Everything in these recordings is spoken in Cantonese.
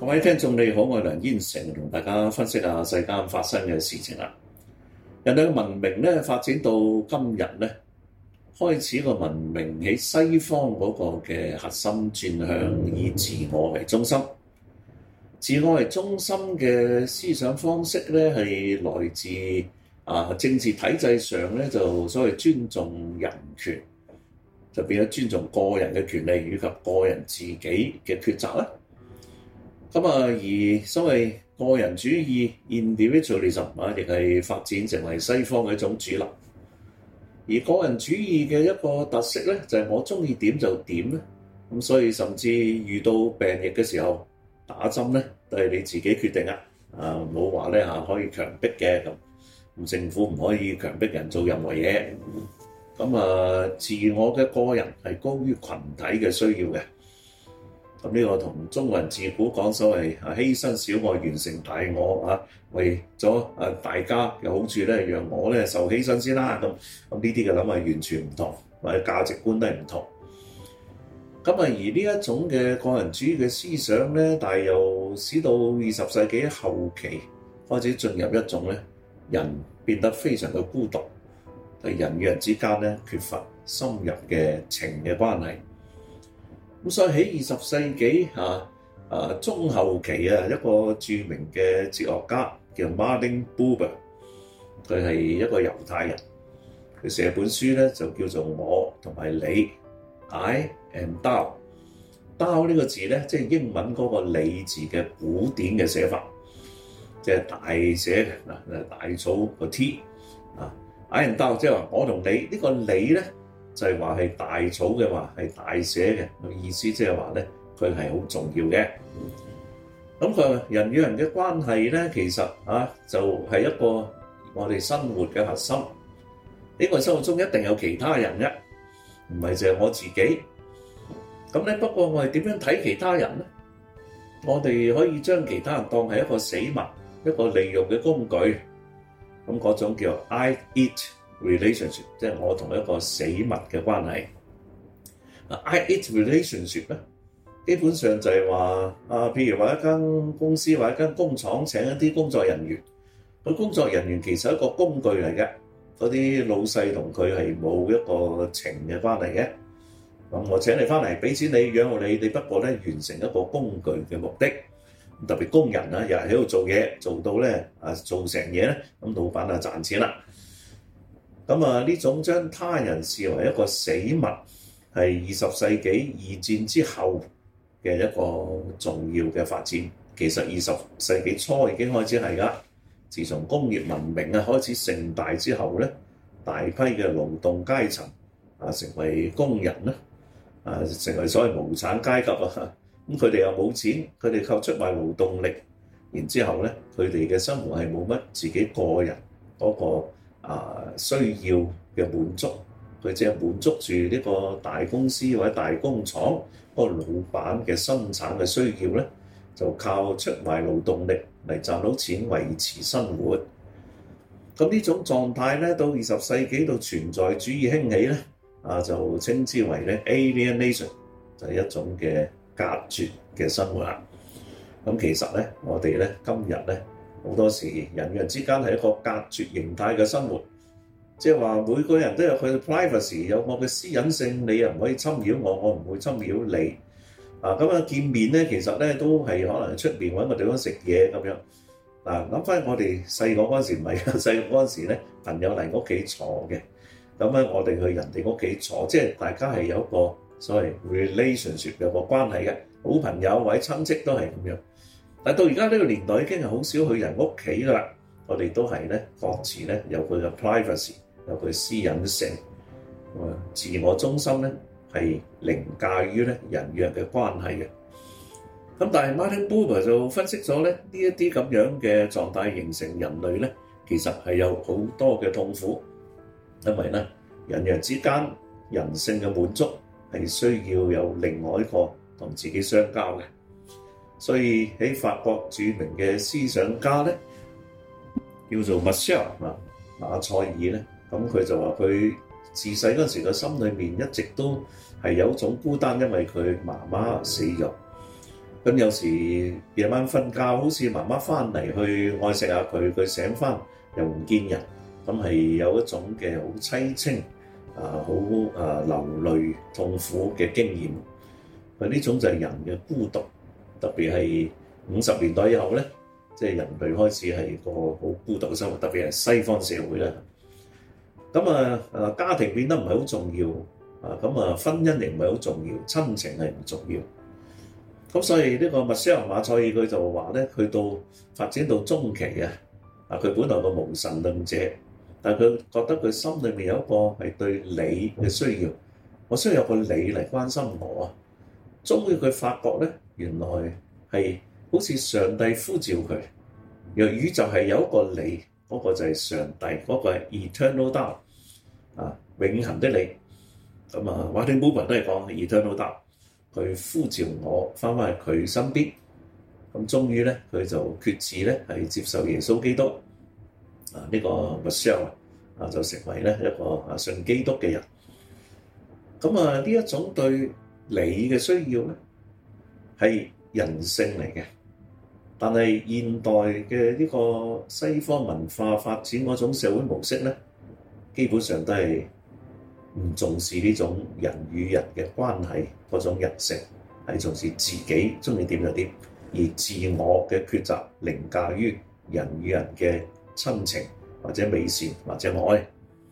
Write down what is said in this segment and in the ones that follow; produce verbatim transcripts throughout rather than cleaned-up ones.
各位聽眾你好，我係梁燕成，同大家分析下世間發生嘅事情啦。人類嘅文明咧發展到今日咧，開始個文明喺西方嗰個嘅核心轉向以自我為中心。自我為中心嘅思想方式咧，係來自啊政治體制上咧，就所謂尊重人權，就變咗尊重個人嘅權利以及個人自己嘅抉擇啦。咁啊，而所謂個人主義 individualism 啊，亦係發展成為西方嘅一種主流。而個人主義嘅一個特色咧，就係我中意點就點咧。咁所以甚至遇到病疫嘅時候，打針咧都係你自己決定啊！啊，冇話咧嚇可以強迫嘅咁，咁政府唔可以強迫人做任何嘢。咁啊，自我嘅個人係高於群體嘅需要嘅。咁呢個同中國人自古講所謂啊犧牲小我完成大我啊，為咗啊大家嘅好處咧，讓我咧受犧牲先啦。咁咁呢啲嘅諗法完全唔同，或者價值觀都係唔同。咁啊，而呢一種嘅個人主義嘅思想咧，但係又使到二十世紀後期開始進入一種咧，人變得非常嘅孤獨，係人與人之間咧缺乏深入嘅情嘅關係。咁所以喺二十世紀啊啊中後期啊，一個著名嘅哲學家叫 Martin Buber， 佢係一個猶太人，佢寫本書咧就叫做我同埋你 I and Thou。Thou 呢個字咧，即係英文嗰個你字嘅古典嘅寫法，即係大寫嘅嗱，大草個 T 啊 I and Thou， 即係話我同你呢、呢個你咧。就係話係大草嘅話係大寫嘅意思，即係話咧佢係好重要嘅。咁佢話人與人嘅關係咧，其實啊就係、是、一個我哋生活嘅核心。呢、這個生活中一定有其他人嘅，唔係淨係我自己。咁咧不過我哋點樣睇其他人咧？我哋可以將其他人當係一個死物，一個利用嘅工具。咁嗰種叫 I-it relationship， 即係我同一個死物嘅關係。啊 I-it relationship 咧，基本上就係話啊，譬如話一間公司或者一間工廠請一啲工作人員，個工作人員其實係一個工具嚟嘅，嗰啲老細同佢係冇一個情嘅關係嘅。咁我請你翻嚟俾錢你養我你，你不過咧完成一個工具嘅目的。特別工人啊，日日喺度做嘢，做到咧啊做成嘢咧，咁老闆啊賺錢啦。咁啊，呢種將他人視為一個死物，係二十世紀二戰之後嘅一個重要嘅發展。其實二十世紀初已經開始係㗎。自從工業文明啊開始盛大之後咧，大批嘅勞動階層啊成為工人啦，啊成為所謂無產階級啊。咁佢哋又冇錢，佢哋靠出賣勞動力，然之後咧，佢哋嘅生活係冇乜自己個人嗰個啊需要嘅滿足，佢只係滿足住呢個大公司或者大工廠嗰個老闆嘅生產嘅需要咧，就靠出賣勞動力嚟賺到錢維持生活。咁呢種狀態咧，到二十世紀到存在主義興起咧，啊就稱之為咧 alienation， 就係一種嘅隔絕嘅生活啦。咁其實咧，我哋咧今日咧好多時人與人之間係一個隔絕形態嘅生活，即係話每個人都有佢嘅 privacy， 有我嘅私隱性，你又唔可以侵擾我，我唔會侵擾你。啊，咁啊見面咧，其實咧都係可能出面揾個地方食嘢咁樣。嗱，諗翻我哋細個嗰陣時唔係啊，細個嗰陣時咧朋友嚟屋企坐嘅，咁咧我哋去人哋屋企坐，即係大家係有一個所謂 relationship 有個關係嘅，好朋友或者親戚都係咁樣。但到而家呢個年代已經係好少去人屋企啦，我哋都係咧各自咧有佢嘅 privacy， 有佢私隱性，自我中心咧係凌駕於咧人與人嘅關係嘅。咁但係 Martin Buber 就分析咗咧呢一啲咁樣嘅狀態形成人類咧，其實係有好多嘅痛苦，因為咧人與人之間人性嘅滿足係需要有另外一個同自己相交嘅。所以喺法國著名嘅思想家咧，叫做 Michel 啊馬塞爾咧，咁佢就話佢自細嗰陣時個心裏面一直都係有一種孤單，因為佢媽媽死咗。 咁有時夜晚瞓覺，好似媽媽翻嚟去愛錫下佢，佢醒翻又唔見人，咁係有一種嘅好凄清啊，好啊流淚痛苦嘅經驗。佢呢種就係人嘅孤獨，特別係五十年代以後咧，即係人類開始係個好孤獨嘅生活，特別係西方社會啦。咁啊啊家庭變得唔係好重要啊，咁啊婚姻亦唔係好重要，親情係唔重要。咁所以呢個麥西亞馬賽爾佢就話咧，去到發展到中期啊，啊佢本來個無神論者，但係佢覺得佢心裏面有一個係對你嘅需要，我需要有個你嚟關心我啊。終於佢發覺咧，原來係好似上帝呼召佢，若宇宙係有一個你，嗰、那個就係上帝，嗰、那個係 eternal thou 啊，永恆的你。咁啊，馬丁布本都係講 eternal thou。佢呼召我翻返去佢身邊，咁終於咧佢就決志咧係接受耶穌基督啊，呢個 Michelle 啊就成為咧一個啊信基督嘅人。咁啊呢一種對你嘅需要咧係人性嚟嘅，但係現代嘅呢個西方文化發展嗰種社會模式咧，基本上都係唔重視呢種人與人嘅關係嗰種人性，係重視自己中意點就點，而自我嘅抉擇凌駕於人與人嘅親情或者美善或者愛。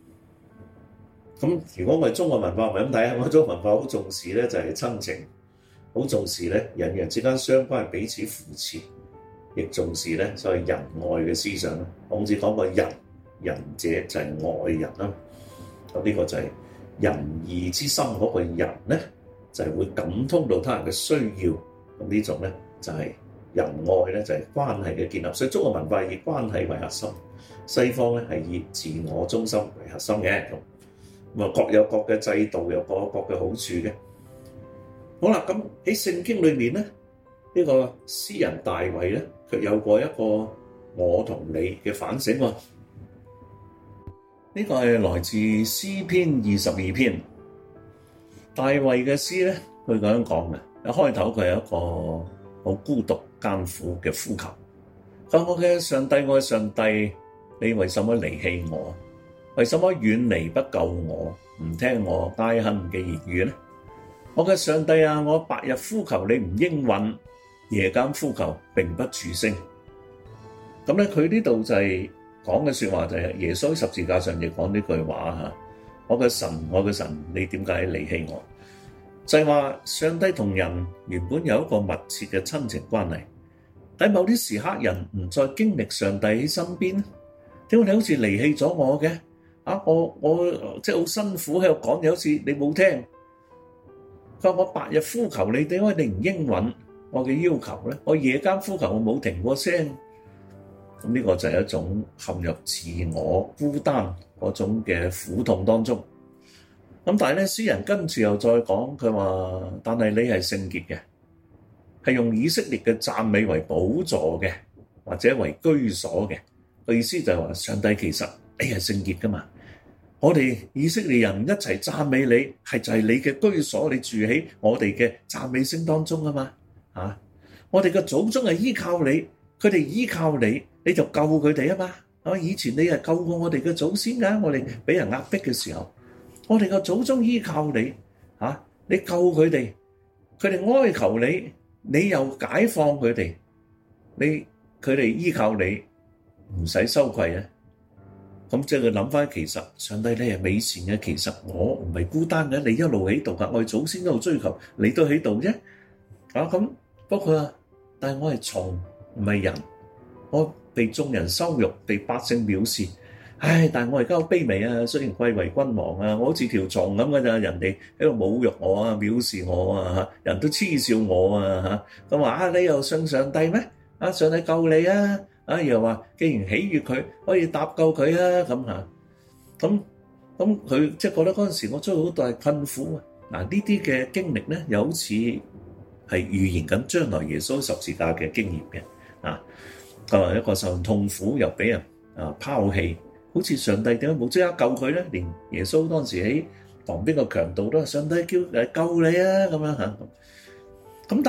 咁如果我哋中國文化唔係咁睇啊，我哋中國文化好重視咧就係親情，好重視咧人與人之間相關係彼此扶持，亦重視咧所謂仁愛嘅思想啦。孔子講過仁，仁者就係愛人啦。咁呢個就係仁義之心嗰個人咧，就係、是、會感通到他人嘅需要。咁呢種咧就係、是、仁愛咧，就係、是、關係嘅建立。所以中國文化以關係為核心，西方咧係以自我中心為核心嘅。咁啊各有各嘅制度，有各有各嘅好處嘅。好啦，咁喺聖經裏面咧，呢、這個詩人大衛咧，卻有過一個我同你嘅反省喎。呢個係來自詩篇二十二篇，大衛嘅詩咧，佢咁樣講嘅。一開頭佢係一個好孤獨艱苦嘅呼求，佢話我嘅上帝，我嘅上帝，你為什麼離棄我？為什麼遠離不救我？唔聽我哀恨嘅言語咧？我嘅上帝啊，我白日呼求你唔應允，夜間呼求並不住聲。咁咧，佢呢度就係、是。講嘅説話就係耶穌喺十字架上亦講呢句話嚇，我嘅神，我嘅神，你點解離棄我？就係話上帝同人原本有一個密切嘅親情關係，但某啲時刻人唔再經歷上帝喺身邊，點解你好似離棄咗我嘅？啊，我我即係好辛苦喺度講嘢，好似你冇聽。佢話我白日呼求你，點解你唔應允我嘅要求咧？我夜間呼求我冇停過聲。咁呢個就係一種陷入自我孤單嗰種嘅苦痛當中。咁但係咧，詩人跟住又再講，佢話：但係你係聖潔嘅，係用以色列嘅讚美為寶座嘅，或者為居所嘅。個意思就係話，上帝其實你係聖潔噶嘛。我哋以色列人一齊讚美你，係就係你嘅居所，你住喺我哋嘅讚美聲當中啊嘛。啊，我哋嘅祖宗係依靠你，佢哋依靠你。你就救佢哋啊嘛！啊，以前你係救過我哋嘅祖先㗎，我哋俾人壓迫嘅時候，我哋嘅祖宗依靠你，嚇、啊、你救佢哋，佢哋哀求你，你又解放佢哋，你佢哋依靠你，唔使羞愧啊！咁即係佢諗翻，其實上帝你係美善嘅，其實我唔係孤單嘅，你一路喺度㗎，我哋祖先一路追求，你都喺度啫。啊咁，不過啊，但係我係蟲，唔係人，我被眾人羞辱，被百姓藐視，唉！但係我而家好卑微啊！雖然貴為君王啊，我好似條蟲咁嘅咋，人哋喺度侮辱我啊、藐視我啊，人都恥笑我啊嚇！咁話啊，你又信上帝咩？啊，上帝救你啊！啊，又話既然喜悅佢，可以搭救佢啊咁嚇。咁咁佢即係覺得嗰陣時我遭遇好大困苦啊！嗱，呢啲嘅經歷咧，又好似係預言緊將來耶穌十字架嘅經驗嘅啊。佢話一個受痛苦又俾人啊拋棄，好似上帝點解冇即刻救佢咧？連耶穌當時喺旁邊個強盜都話：上帝叫誒救你啊咁樣嚇。咁但係咧，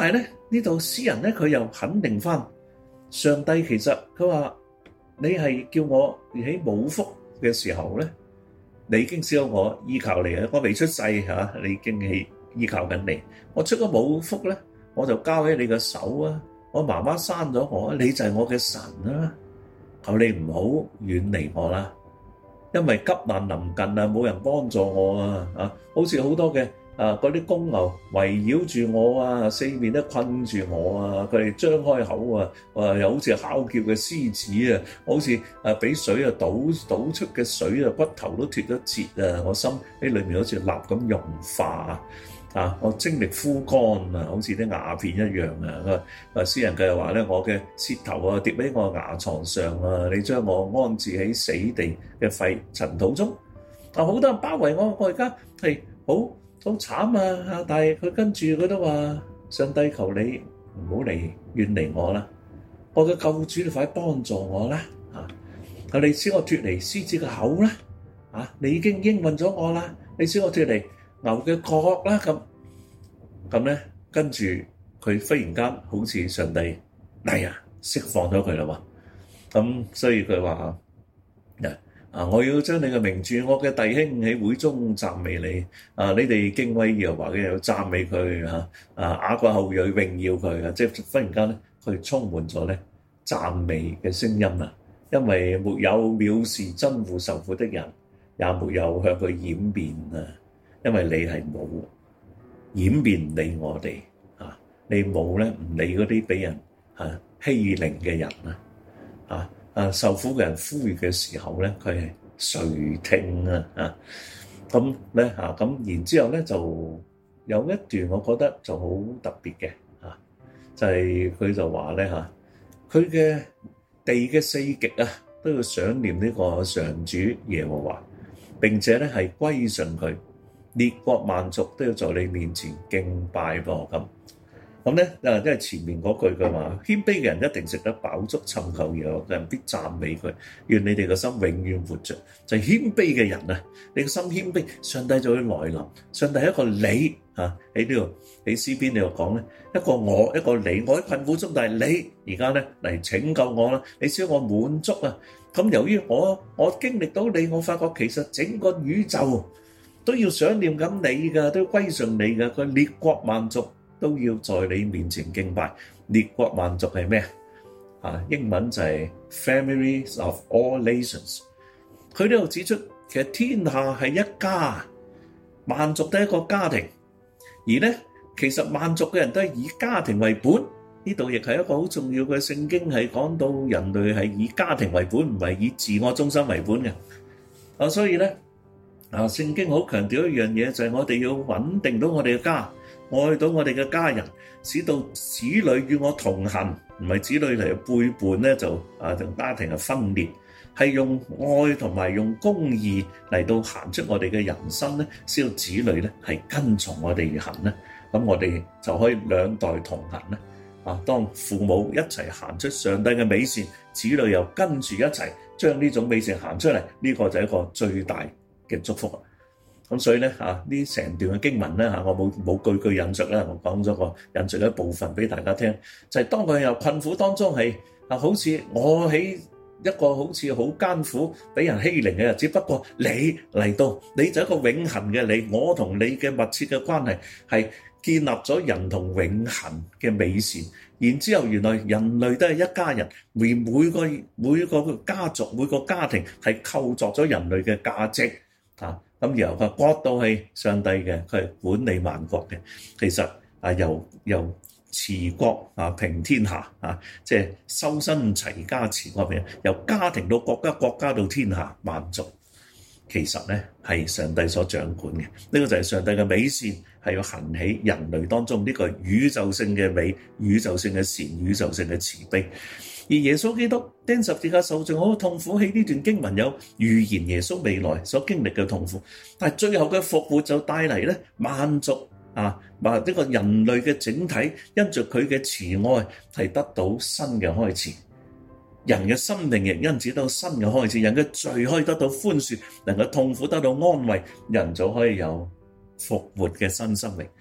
呢度詩人咧佢又肯定翻上帝，其實佢話你係叫我喺冇福嘅時候咧，你已經知道我依靠你啊！我未出世嚇，你已經係依靠緊你。我出咗冇福咧，我就交喺你嘅手啊！我媽媽生咗我，你就係我嘅神啊！求你唔好遠離我啦，因為急難臨近啊，冇人幫助我啊！啊，好似好多嘅啊嗰啲公牛圍繞住我啊，四面都困住我啊，佢哋張開口啊，啊又好似哮叫嘅獅子啊，好似啊俾水啊倒倒出嘅水啊，骨頭都脫咗節啊，我心喺裏面好似蠟咁融化啊，我精力枯乾啊，好似啲瓦片一樣啊！啊，詩人佢又話咧，我嘅舌頭啊跌喺我牙床上啊，你將我安置喺死地嘅廢塵土中啊！好多人包圍我，我而家係好好慘啊！但係佢跟住佢都話：上帝求你唔好嚟遠離我啦！我嘅救主，你快幫助我啦！啊，求你使我脫離獅子嘅口啦！啊，你已經應允咗我啦！你使我脫離牛嘅角啦！咁咁咧，跟住佢忽然間好似上帝嚟啊，釋放咗佢啦喎！咁所以佢話：啊！我要將你嘅名著，我嘅弟兄喺會中讚美你。啊！你哋敬畏耶和華嘅，又讚美佢嚇。啊！雅各後裔榮耀佢啊！即係忽然間咧，佢充滿咗咧讚美嘅聲音啊！因為沒有藐視憎惡受苦的人，也沒有向佢掩面啊！因為你係冇掩面理我哋啊！你冇咧唔理嗰啲俾人啊欺凌嘅人啊！啊！啊！受苦嘅人呼籲嘅時候咧，佢係垂聽啊！啊咁咧嚇咁，然之後咧就有一段我覺得就好特別嘅嚇，就係佢就話咧嚇，佢嘅地嘅四極啊都要想念呢個上主耶和華，並且咧係歸順佢，列國萬族都要在你面前敬拜噃咁。咁咧，啊，因為前面嗰句佢話，謙卑嘅人一定食得飽足，尋求耶和華嘅人必讚美佢。願你哋嘅心永遠活着。就係謙卑嘅人啊，你個心謙卑，上帝就會來臨。上帝係一個你嚇喺呢度喺詩篇呢度講咧，一個我一個你，我喺困苦中，但係你而家咧嚟拯救我啦，你使我滿足啊。咁由於我我經歷到你，我發覺其實整個宇宙都要想念緊你㗎，都要歸順你㗎。佢列國萬族都要在你面前敬拜。列國萬族係咩啊？英文就係 families of all nations。佢呢度指出，其實天下係一家，萬族都係一個家庭。而咧，其實萬族嘅人都係以家庭為本。呢度亦係一個好重要嘅聖經，係講到人類係以家庭為本，唔係以自我中心為本嘅。啊，所以咧，啊，聖經好強調一樣嘢，就係我哋要穩定到我哋嘅家。愛到我哋嘅家人，使到子女與我同行，唔係子女嚟背叛咧，就啊同家庭嘅分裂，係用愛同埋用公義嚟到行出我哋嘅人生咧，使到子女咧係跟從我哋而行咧，咁我哋就可以兩代同行咧。啊，當父母一齊行出上帝嘅美善，子女又跟住一齊將呢種美善行出嚟，呢、這個就係一個最大嘅祝福。咁所以咧嚇，呢成段嘅經文咧嚇，我冇冇句句引述啦，我講咗個引述一部分俾大家聽，就係、是、當佢由困苦當中係啊，好似我喺一個好似好艱苦俾人欺凌嘅日子，不過你嚟到，你就一個永恆嘅你，我同你嘅密切嘅關係係建立咗人同永恆嘅美善。然之後原來人類都係一家人，而每個每個家族每個家庭係構築咗人類嘅價值啊。咁然後佢國度係上帝嘅，佢係管理萬國嘅。其實啊，由由持國啊平天下啊，即係修身齊家治國平，由家庭到國家，國家到天下萬族，其實咧係上帝所掌管嘅。呢個就係上帝嘅美善，係要行喺人類當中呢個宇宙性嘅美、宇宙性嘅善、宇宙性嘅慈悲。而耶穌基督釘十字架受盡好痛苦，喺呢段經文有預言耶穌未來所經歷嘅痛苦，但係最後嘅復活就帶嚟咧萬族啊，或呢個人類嘅整體，因着佢嘅慈愛係得到新嘅開始，人嘅生命亦因此得到新嘅開始，人嘅罪可以得到寬恕，人嘅痛苦得到安慰，人就可以有復活嘅新生命。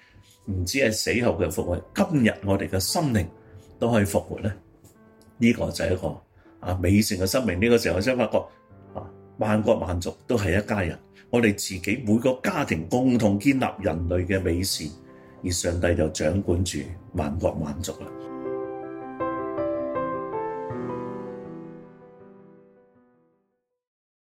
唔止係死後嘅復活，今日我哋嘅心靈都可以復活咧。呢、這個就係一個啊美善嘅生命。呢、這個時候我先發覺啊，萬國萬族都係一家人，我哋自己每個家庭共同建立人類嘅美善，而上帝就掌管住萬國萬族啦。